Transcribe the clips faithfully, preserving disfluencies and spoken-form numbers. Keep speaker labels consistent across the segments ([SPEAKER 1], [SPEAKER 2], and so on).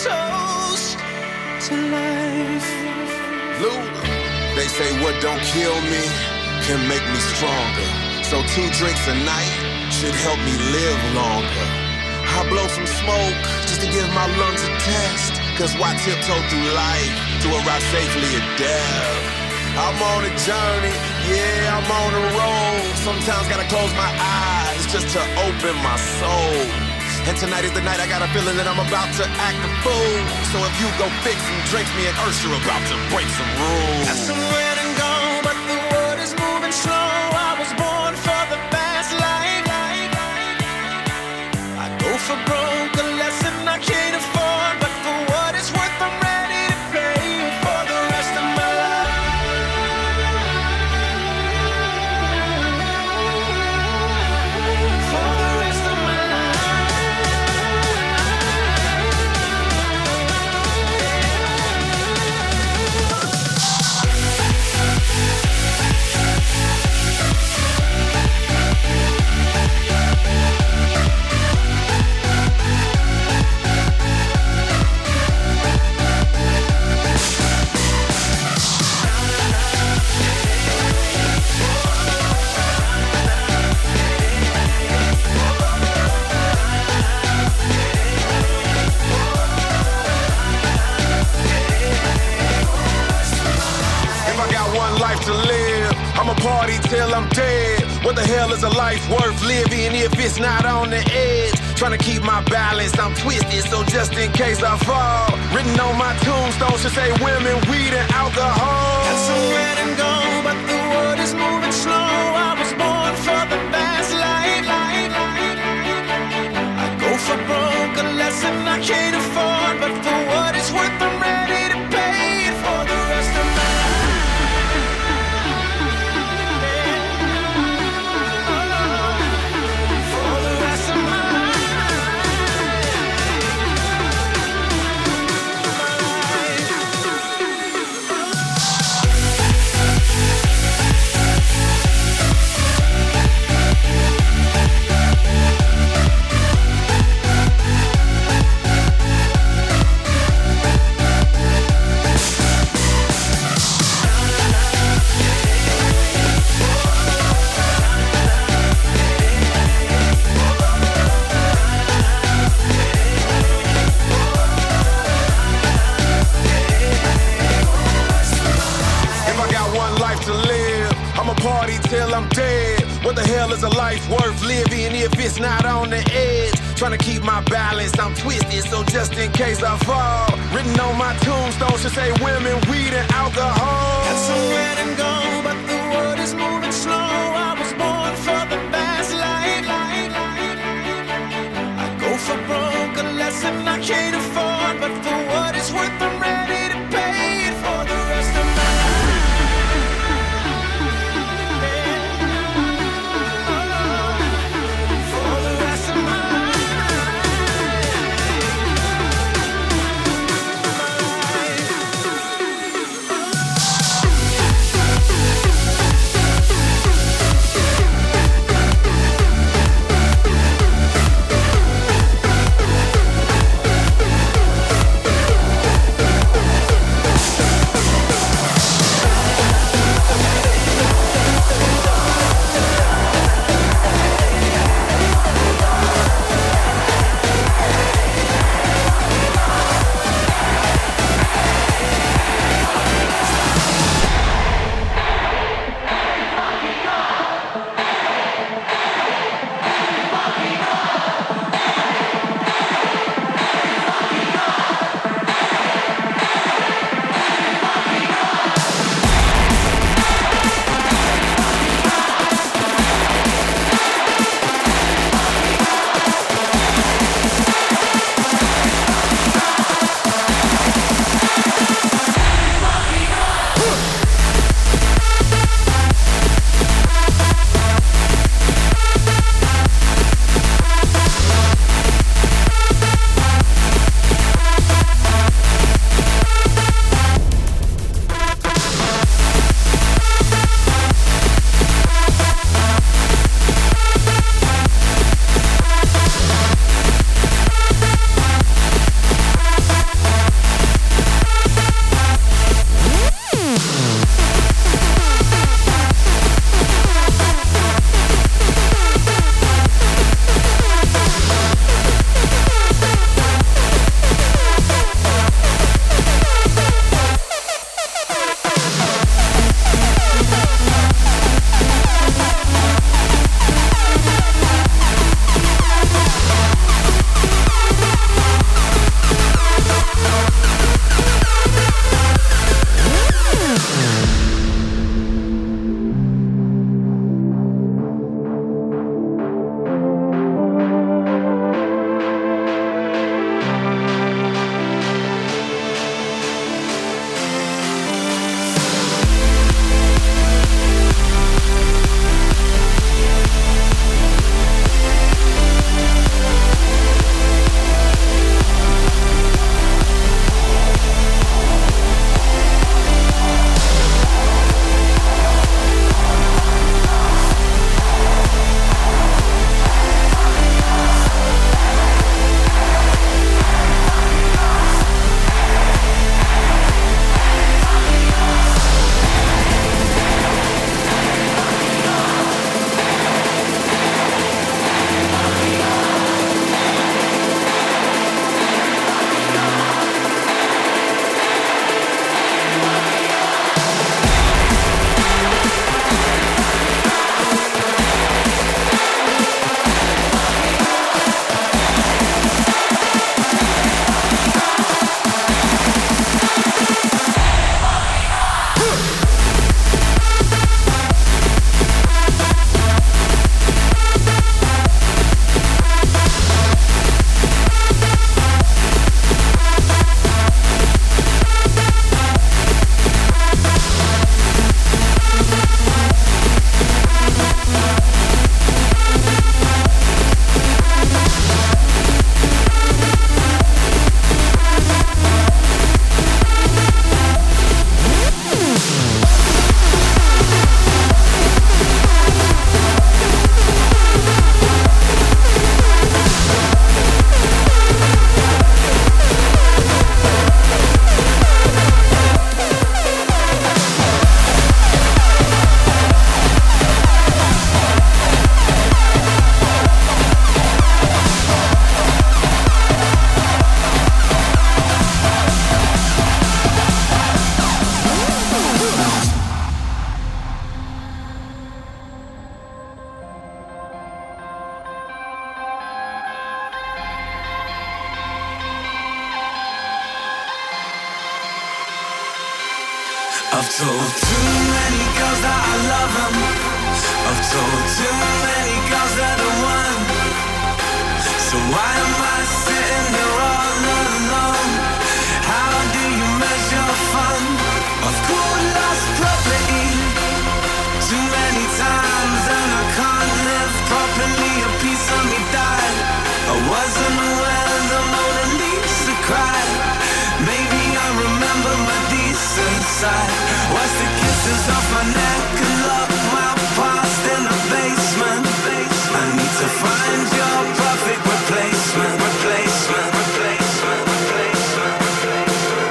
[SPEAKER 1] toast to life.
[SPEAKER 2] Luda. They say what don't kill me can make me stronger. So two drinks a night should help me live longer. I blow some smoke just to give my lungs a test. Cause why tiptoe through life to arrive safely at death? I'm on a journey, yeah, I'm on a road. Sometimes gotta close my eyes just to open my soul. And tonight is the night I got a feeling that I'm about to act a fool. So if you go fix some drinks, me and Ursula are about to break some rules.
[SPEAKER 1] Got some red and gold, but the world is moving slow. I was born for the fast life. I go for broke, a lesson I can't afford. But for what it's worth, I'm ready to pay for the rest of my life. For the rest of my
[SPEAKER 2] To live, I'ma party till I'm dead. What the hell is a life worth living if it's not on the edge? Trying to keep my balance, I'm twisted, so just in case I fall. Written on my tombstone should say women, weed, and alcohol.
[SPEAKER 1] Got some red and gold, but the world is moving slow. I was born for the fast life. I go for broke, a lesson I can't afford. But for what it's worth, I'm ready to pay it for the rest of my life.
[SPEAKER 2] Till I'm dead. What the hell is a life worth living if it's not on the edge? Trying to keep my balance, I'm twisted, so just in case I fall. Written on my tombstone should say women, weed, and alcohol.
[SPEAKER 1] Got some red and gold, but the world is moving slow. I was born for the fast life. I go for broke, a lesson I can't afford. But for what it's worth, I'm ready to pay it for the rest of my life. I've told too many girls that I love them. I've told too many girls that I want. So why am I sitting here all alone? How do you measure fun? I've called lost property too many times and I can't live properly. A piece of me died. I wasn't aware the Mona Lisa cried. Maybe I remember my decent side. Watch the kisses off my neck and lock my past in the basement. I need to find your perfect replacement. Replacement, replacement, replacement, replacement.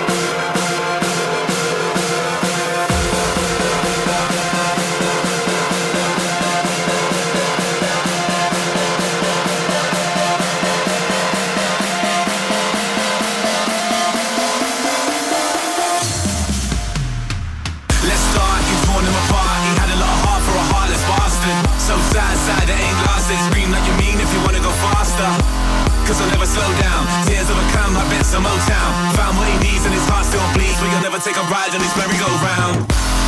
[SPEAKER 1] Let's start, you torn him apart. He had a lot of heart for a heartless bastard. So sad, sad, it ain't lasted. Scream like you mean if you wanna go faster. Cause I'll never slow down. Tears overcome, I bet some Motown. Found what he needs and his heart still bleeds. But you'll never take a ride on his merry-go-round.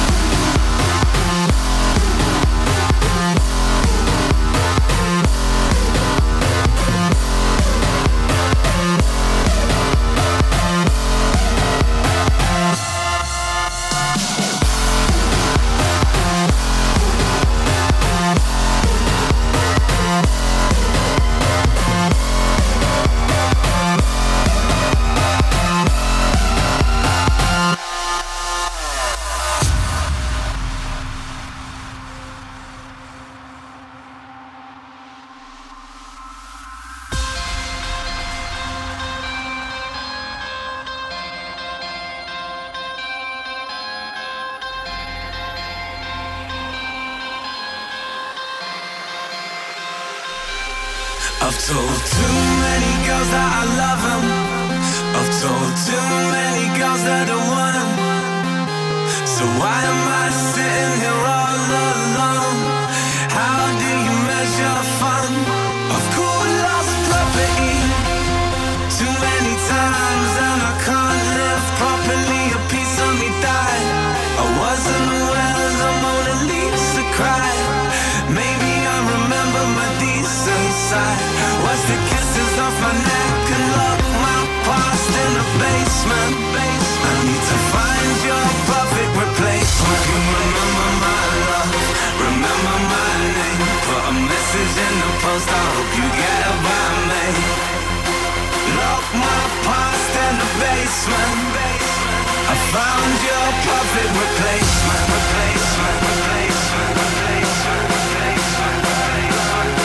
[SPEAKER 1] I've told too many girls that I love them. I've told too many girls that I want them. So why am I sitting here all alone? How do you measure fun? I've called lost property too many times and I can't live properly. A piece of me died. I wasn't aware the Mona Lisa cried. Maybe I remember my decent side. Watch the kisses off my neck and lock my past in the basement. I need to find your perfect replacement. You remember my love, remember my name. Put a message in the post, I hope you get it by me. Lock my past in the basement. I found your perfect replacement. Replacement, replacement, replacement, replacement, replacement.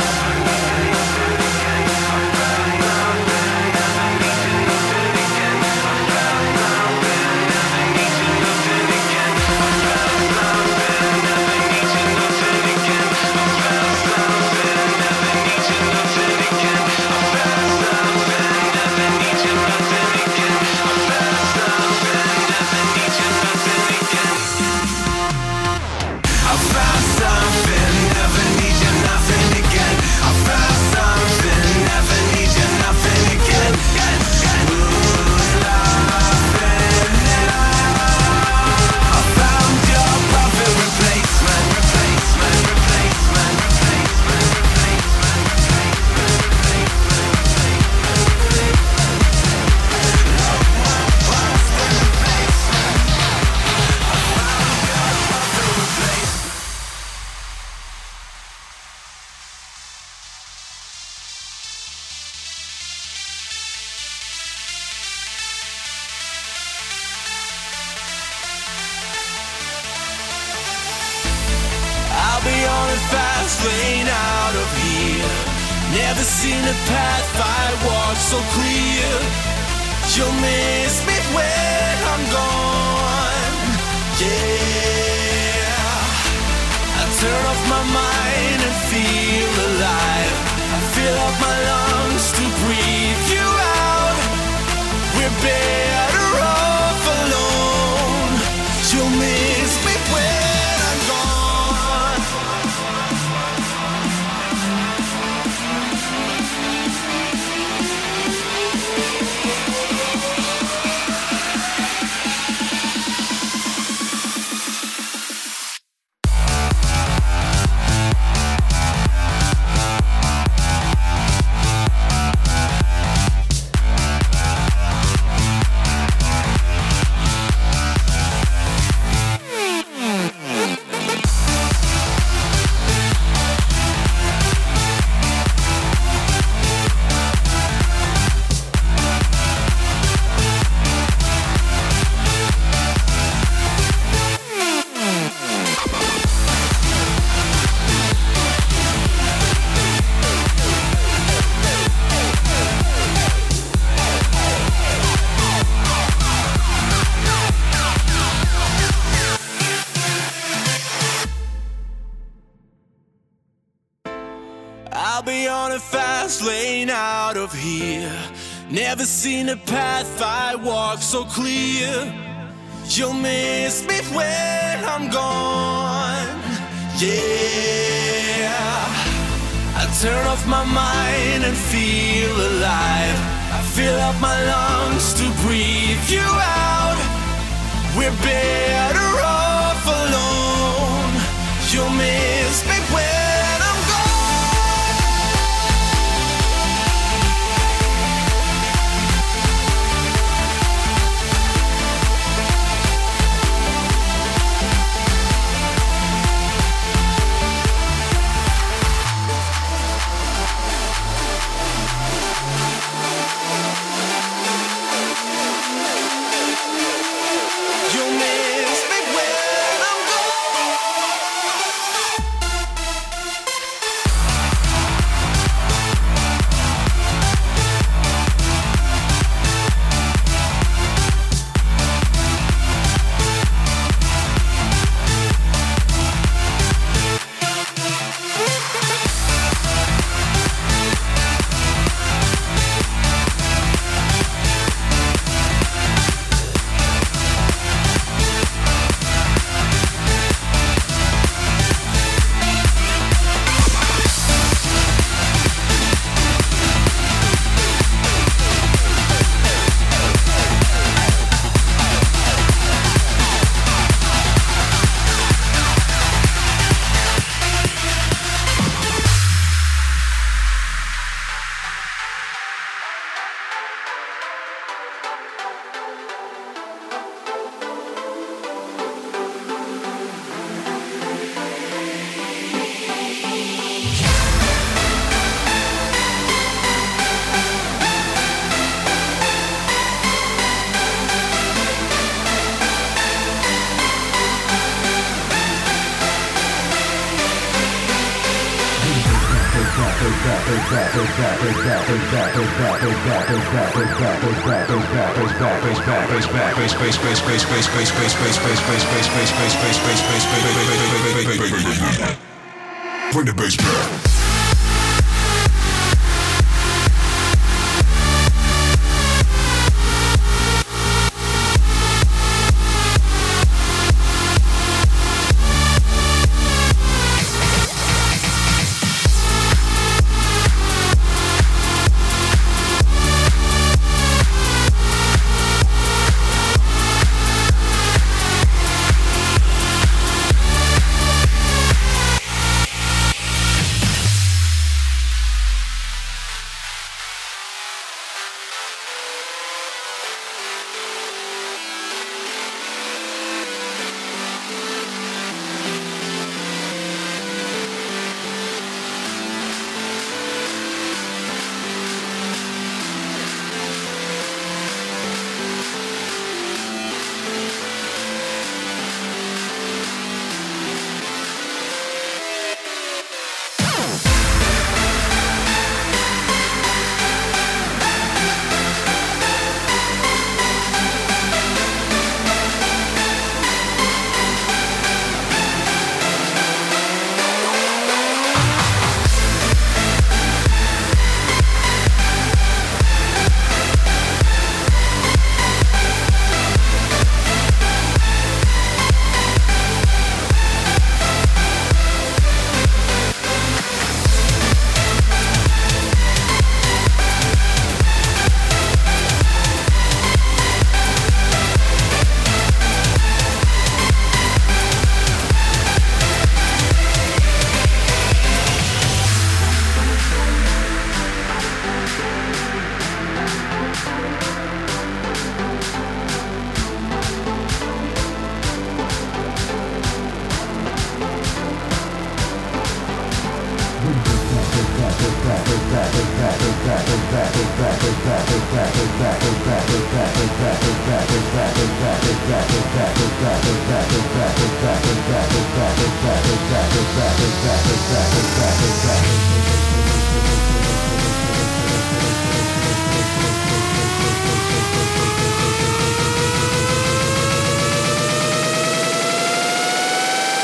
[SPEAKER 1] I'll be on a fast lane out of here. Never seen a path I walk so clear. You'll miss me when I'm gone. Yeah, I turn off my mind and feel alive. I fill up my lungs to breathe you out. We're better off alone. You'll miss me when I'm gone. fast lane out of here. Never seen a path I walk so clear. You'll miss me when I'm gone. Yeah, I turn off my mind and feel alive. I fill up my lungs to breathe you out. We're better off alone. You'll miss me when I'm gone. You'll miss me when I'm
[SPEAKER 3] Bring the bass back.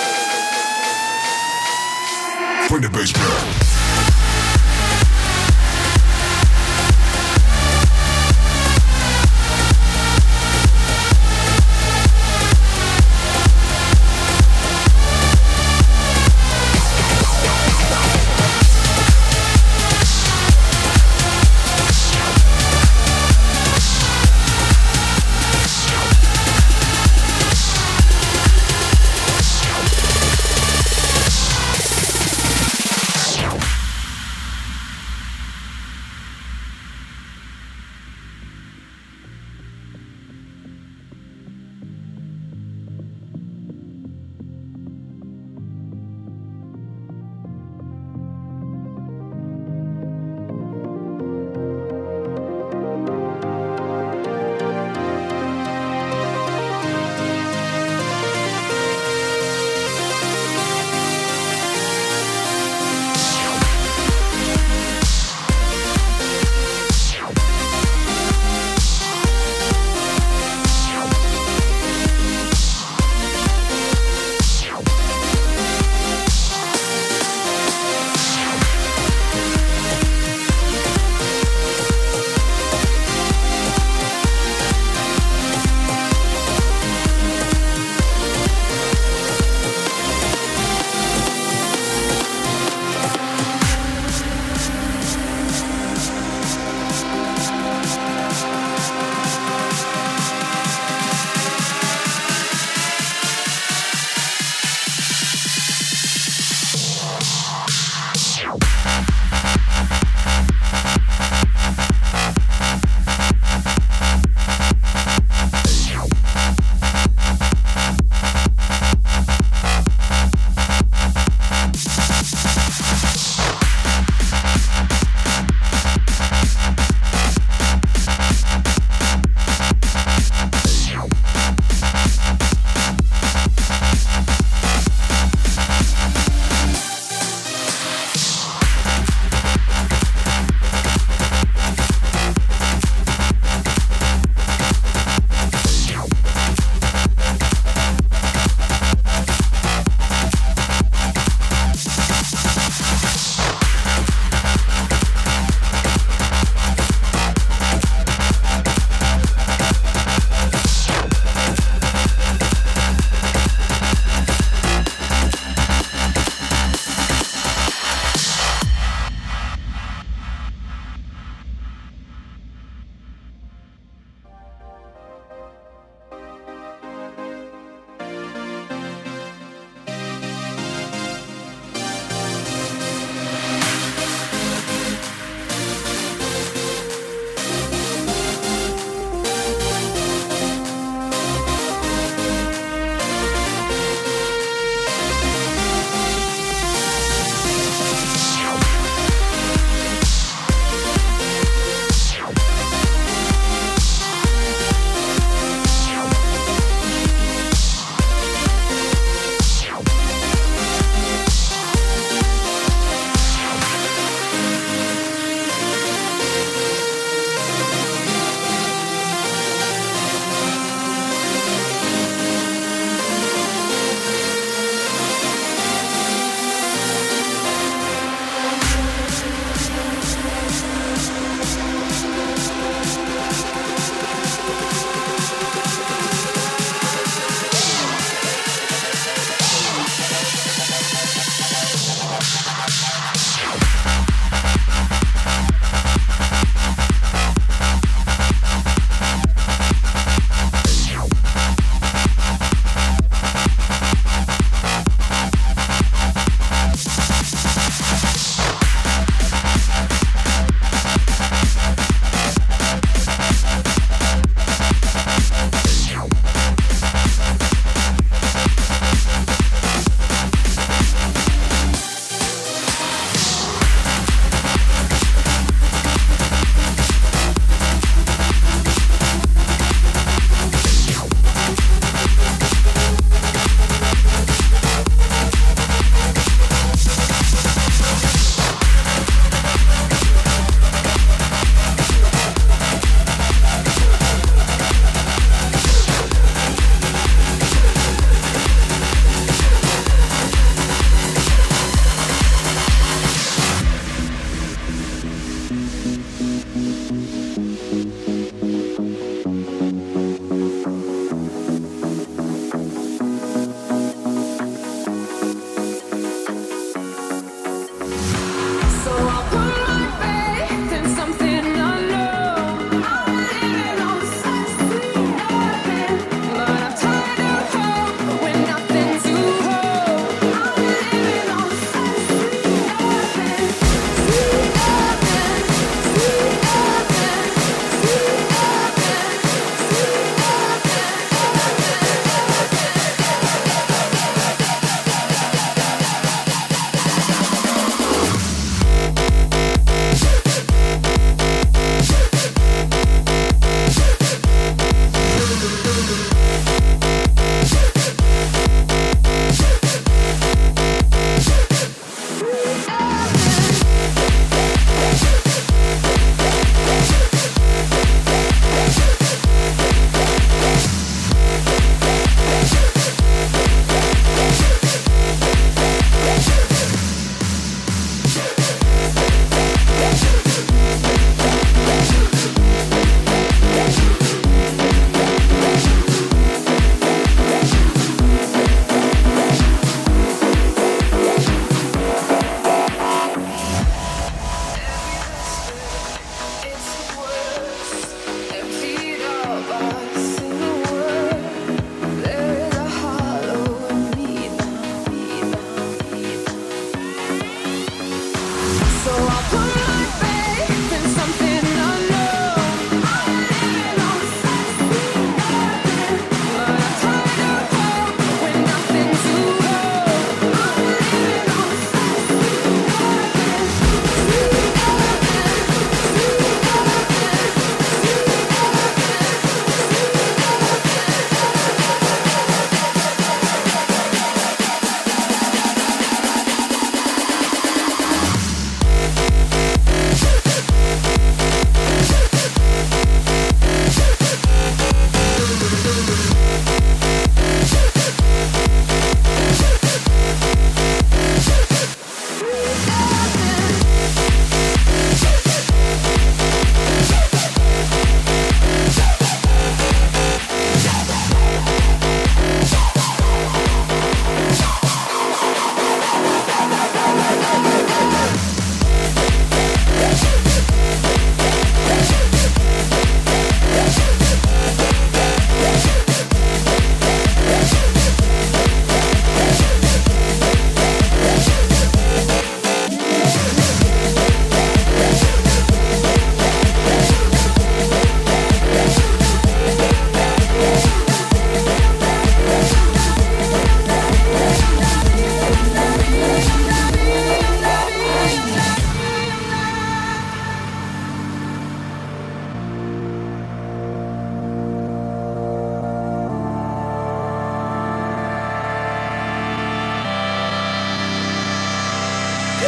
[SPEAKER 4] Bring the bass back.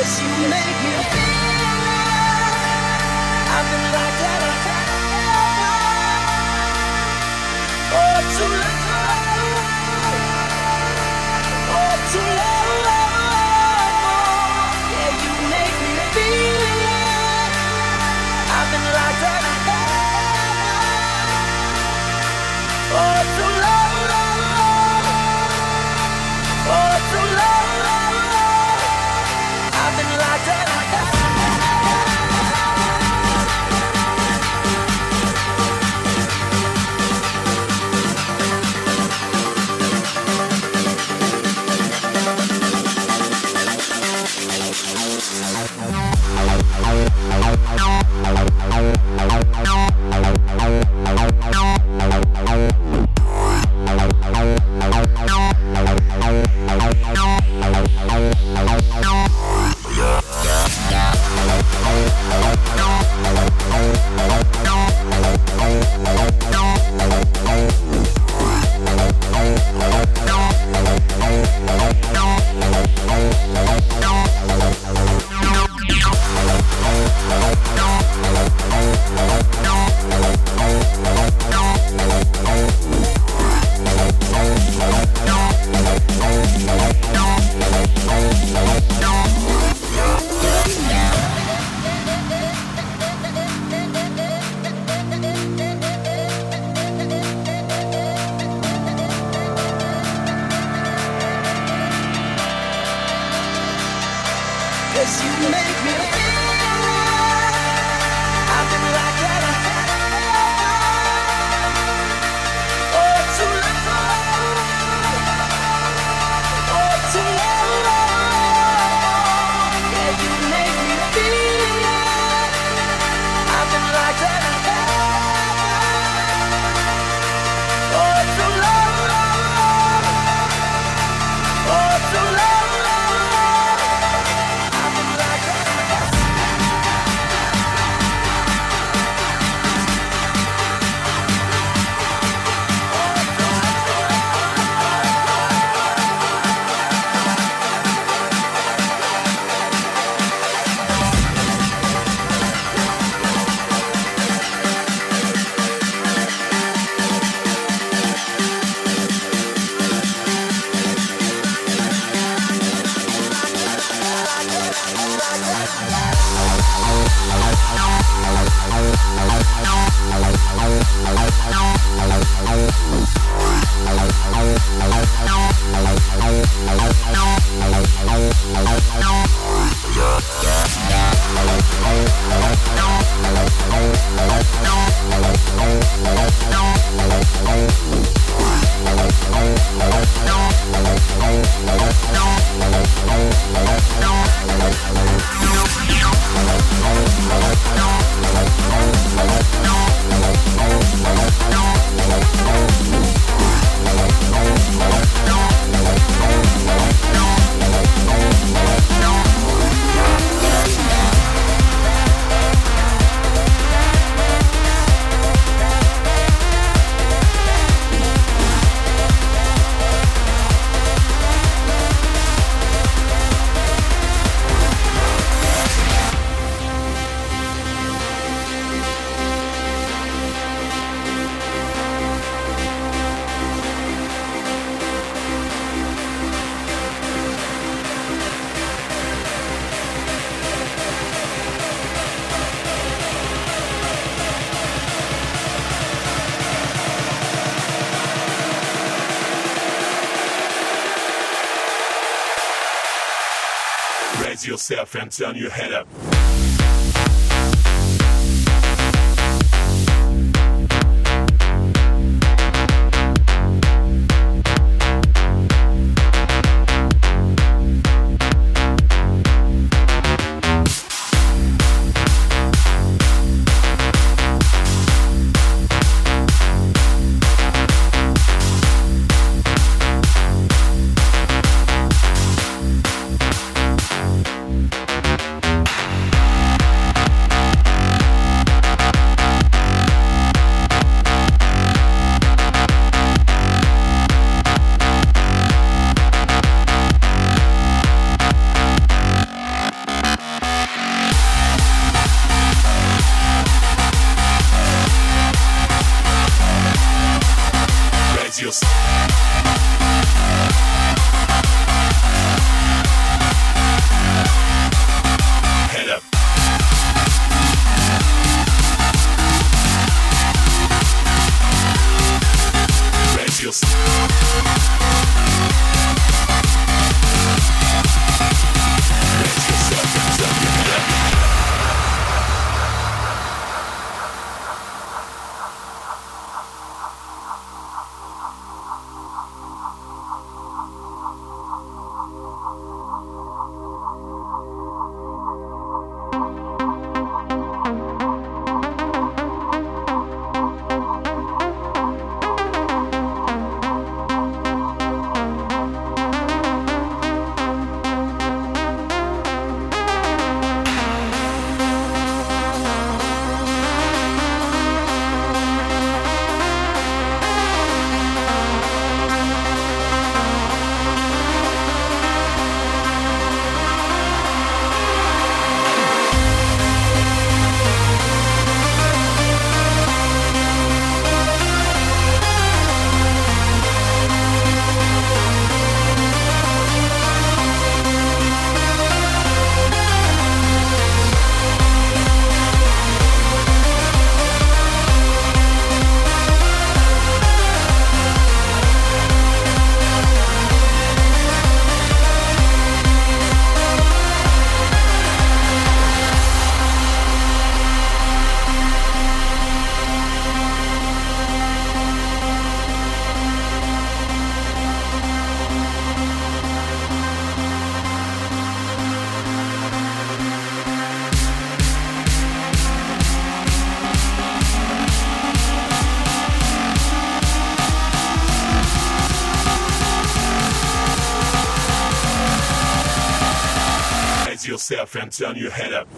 [SPEAKER 3] Yourself and turn your head up. Radio. Head up. Raise your Raise yourself and turn your head up. Yourself and turn your head up.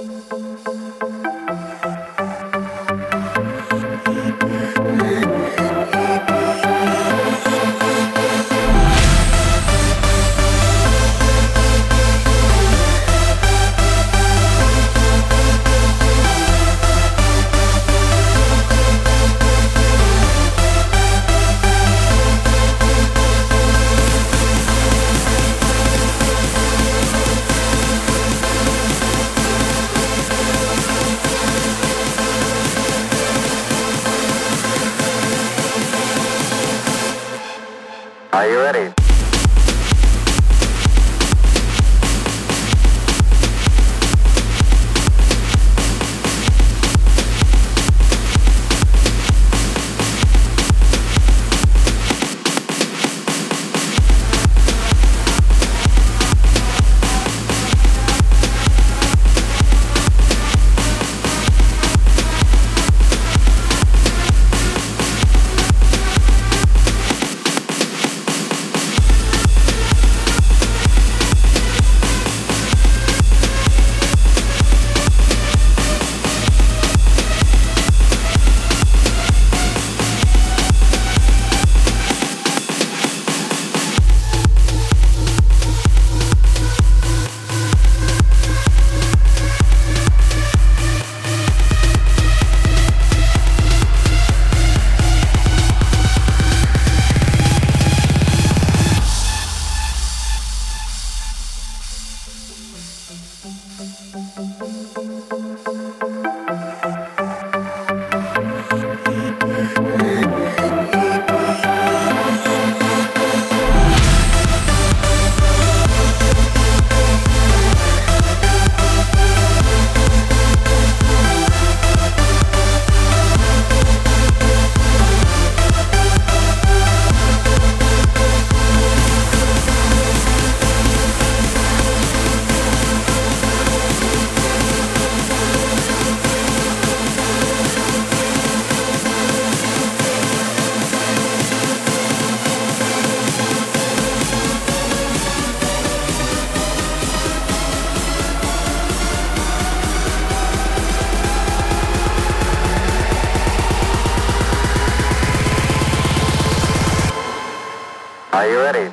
[SPEAKER 4] Are you ready? Are you ready?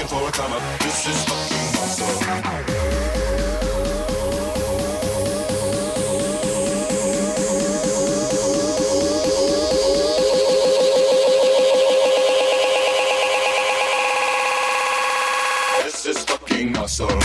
[SPEAKER 3] looking for a come up. This is fucking awesome. This is fucking awesome.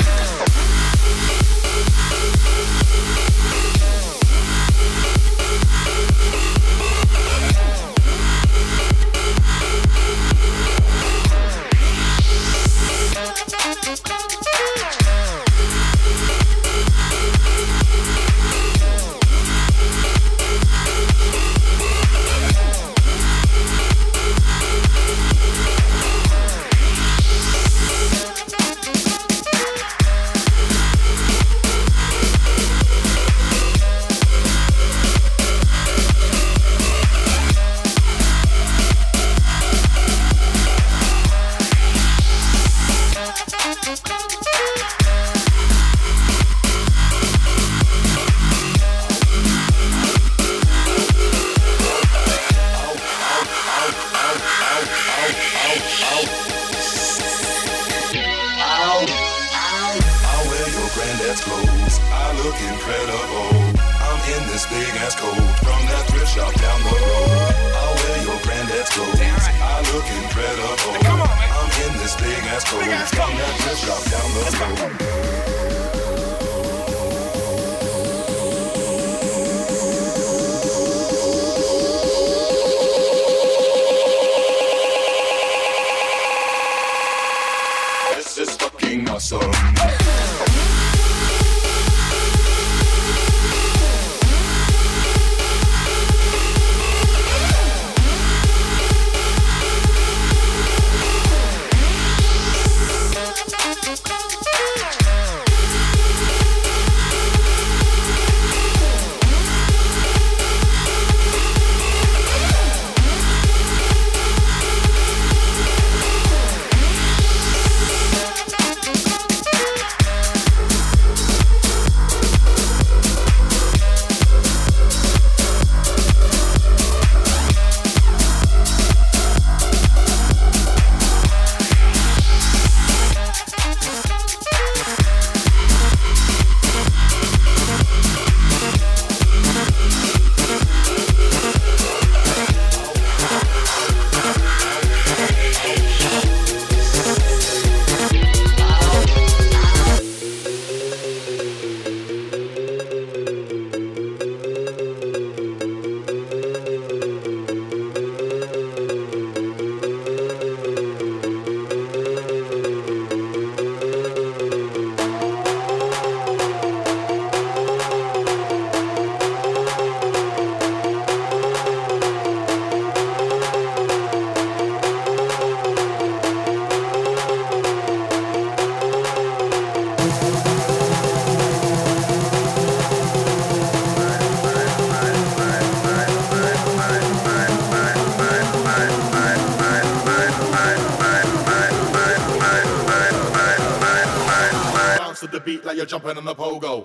[SPEAKER 5] You're jumping on the pogo.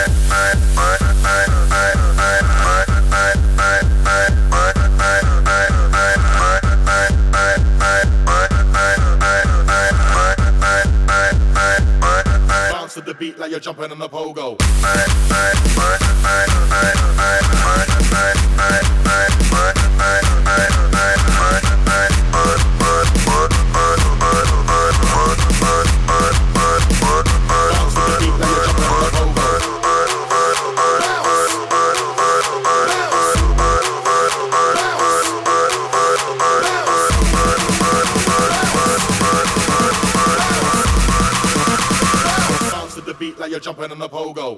[SPEAKER 5] Bounce to the beat like you're jumping on the pogo. Like you're jumping on the pogo.